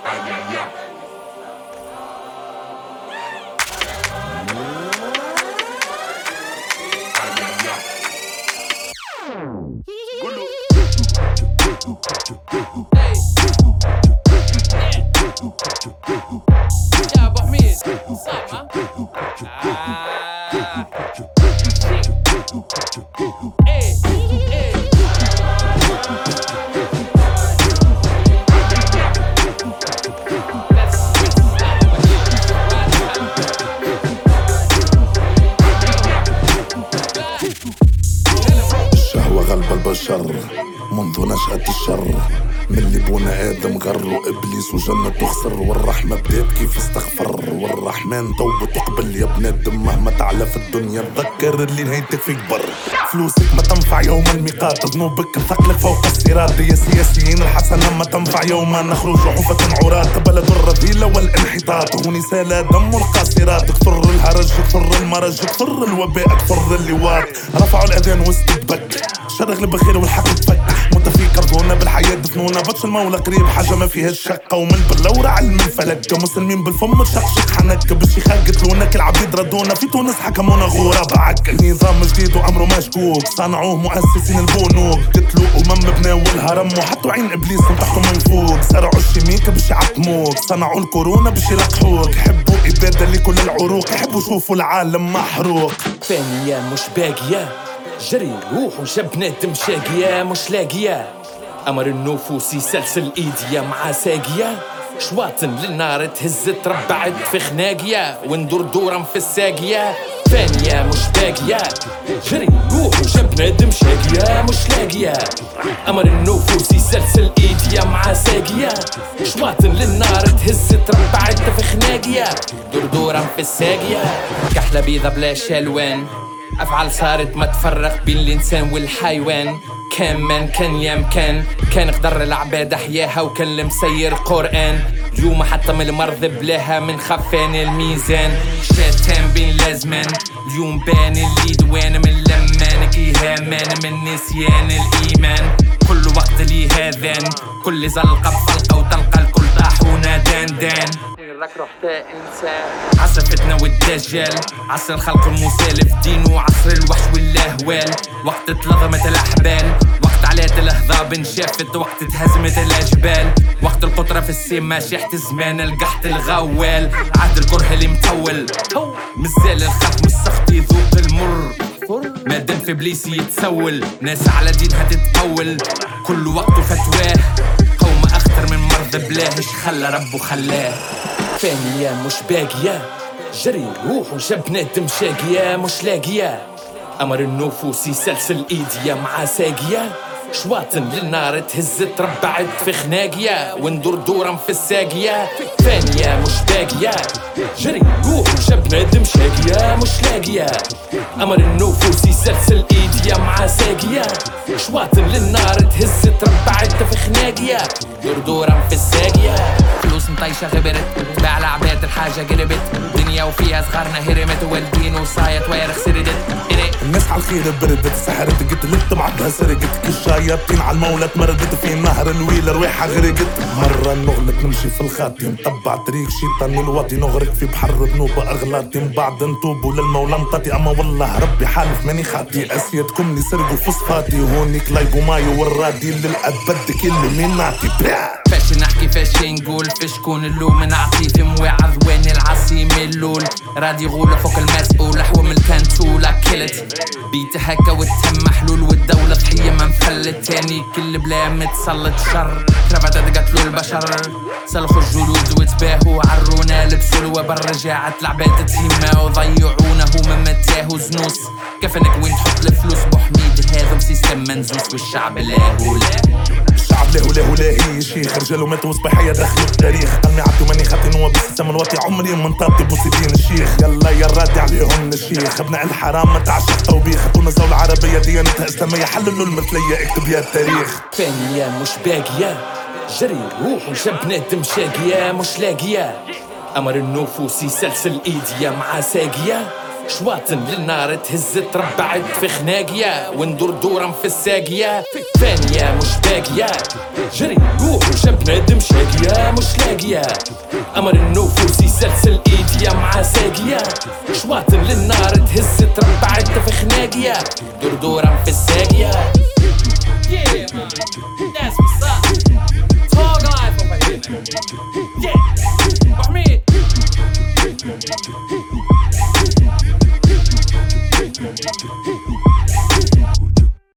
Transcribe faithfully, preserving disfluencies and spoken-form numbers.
يا ابو حميد صعب ها؟ ايه ايه الشهوة غلب البشر منذ نشأة الشر، من اللي بونا آدم غر وإبليس وجنة تخسر، والرحمة بدات كيف استغفر، والرحمن توبة تقبل يا ابن آدم مهما تعلى في الدنيا تذكر اللي نهايتك فيك بر. فلوسك ما تنفع يوم الميقات، ذنوبك ثقلك فوق الصراط، يا سياسيين الحسنة ما تنفع يوما نخرج حفة عراة، بلد الرذيلة والانحطاط هوني سال دم القاصرات، كثر الهرج كثر المرج كثر الوباء كثر اللواط، رفعوا الأذان واستدبك شرغ البخير والحق تفتح، متفيكر ظنونا بالحياة دفنونا بطش المولى قريب حاجة ما فيها الشقة، ومن باللورة علم الفلك مسلمين بالفم تشقشق حنك، بالشيخان قتلونا كالعبيد ردونا، في تونس حكمونا غراب عك، نظام جديد وأمره مشكوك صنعوه مؤسسين البنوك، قتلوا أمم بناو الهرم وحطوا عين إبليس من تحتهم من فوق، زرعوا الشميكة باش يعقموك صنعوا الكورونا باش يلقحوك، يحبوا إبادة لكل العروق يحبوا يشوفوا العالم محروق. ثانية مش باقية جري روح وجاب بنادم شاقية مش لاقية، أمر النفوس يسلسل إيديا مع ساقية، شواطن للنار تهز تربعت في خناقية وندور دورا في الساقية. ثانية مش باقية جري روح وجاب بنادم شاقية مش لاقية، أمر النفوس يسلسل إيديا مع ساقية، شواطن للنار تهز تربعت في خناقية دور دورا في الساقية. كحلة بيضة بلا شالوان أفعال صارت ما تفرق بين الإنسان والحيوان، كان من كان يام كان كان قدر العباد أحياها وكان المسير قرآن، اليوم حتى من المرض بلاها من خفان الميزان، شاتان بين لازمان اليوم بان اللي دوان من لمان كي هامان من نسيان الإيمان، كل وقت لي هذان كل زلقة بفلقة وتلقى الكل طاحونا دان دان لك رحت إنسان. عصر فتنة والدجال عصر الخلق المسالف دين وعصر الوحش والأهوال، وقت اتلظمت الأحبال وقت علات الأهضاب انشافت وقت اتهزمت الأجبال، وقت القطرة في السما شيحت زمان القحط الغوال، عهد الكره اللي مطول مازال الخلق مستخطي يذوق المر، مادام في بليس يتسول ناس على دينها تتقول، كل وقت فتواه قوم أخطر من مرض بلاهش خلى ربه خلاه. ثانية مش باقية جري روح وجاب بنادم شاقية مش لاقية، أمر النفوس يسلسل إيديا مع ساقية، شواطن للنار تهز تربعت في خناقية وندور دورا في الساقية. ثانية مش باقية جري روح وجاب بنادم شاقية مش لاقية، أمر النفوس يسلسل إيديا مع ساقية، شواطن للنار تهز تربعت في خناقية دور دورا في الساقية. فلوس مطيشة غبرت تباع العباد الحاجة قلبت، دنيا وفيها صغارنا هرمت والدين وصايت ويرخ سردت. الناس على الخير بردت سحرت قتلت بعدها سرقت، كالشياطين على المولى تمردت في نهر الويل رواحها غرقت، مرة نغلط نمشي في الخاتم طبع طريق شيطان الواطي نغرق في بحر ذنوب أغلاطي، من بعد نتوبوا للمولى مطاطي أما والله ربي حالف ماني خاطي، أسيادكم اللي سرقوا فوسفاتي هونيك لايبو مايو والرادي للأبد كل من نعطي. فاش نحكي فاش نقول فاش كون اللوم نعطي في مواعظ وين العصيم اللول، رادي غولة فوق المسؤول حوم الكنتولة كلت بيت هكا والتم محلول والدولة ضحية ما مفلت، تاني كل بلا متسلط شر كرافات قتلوا البشر، سلخوا الجلود وتباهوا عرونا لبسوا الوبر رجعت العباد تهمة وضيعونا هما متاهوا زنوس، كفنك وين تحط الفلوس بوحميد هذا سيستم منزوس والشعب لاهو لا الشعب لاهو لاهو لاهي شيخ رجالو ماتوا صباحية دخلوا التاريخ، قلمي عبدو ماني خاطي نوى بالسيستم الواطي عمري من طابتي بوسيدين الشيخ، يلا يا رادي عليهم الشيخ ابناء الحرام ما تعشق توبيخ، خطونا الزولة العربية ديانتها اسلامية حللوا المثلية اكتب يا التاريخ. ثانية مش باقية جري روح وجاب بنادم شاقية مش لاقية، أمر النفوس يسلسل إيديا مع ساقية، شواطن للنار تهز تربعت في خناقية وندور دورا في الساقية ثانية مش باقية جري روح وشاب بنادم شاقية مش لاقية أمر النفوس يسلسل إيديا مع ساقية شواطن للنار تهز تربعت في خناقية دور دورا في الساقية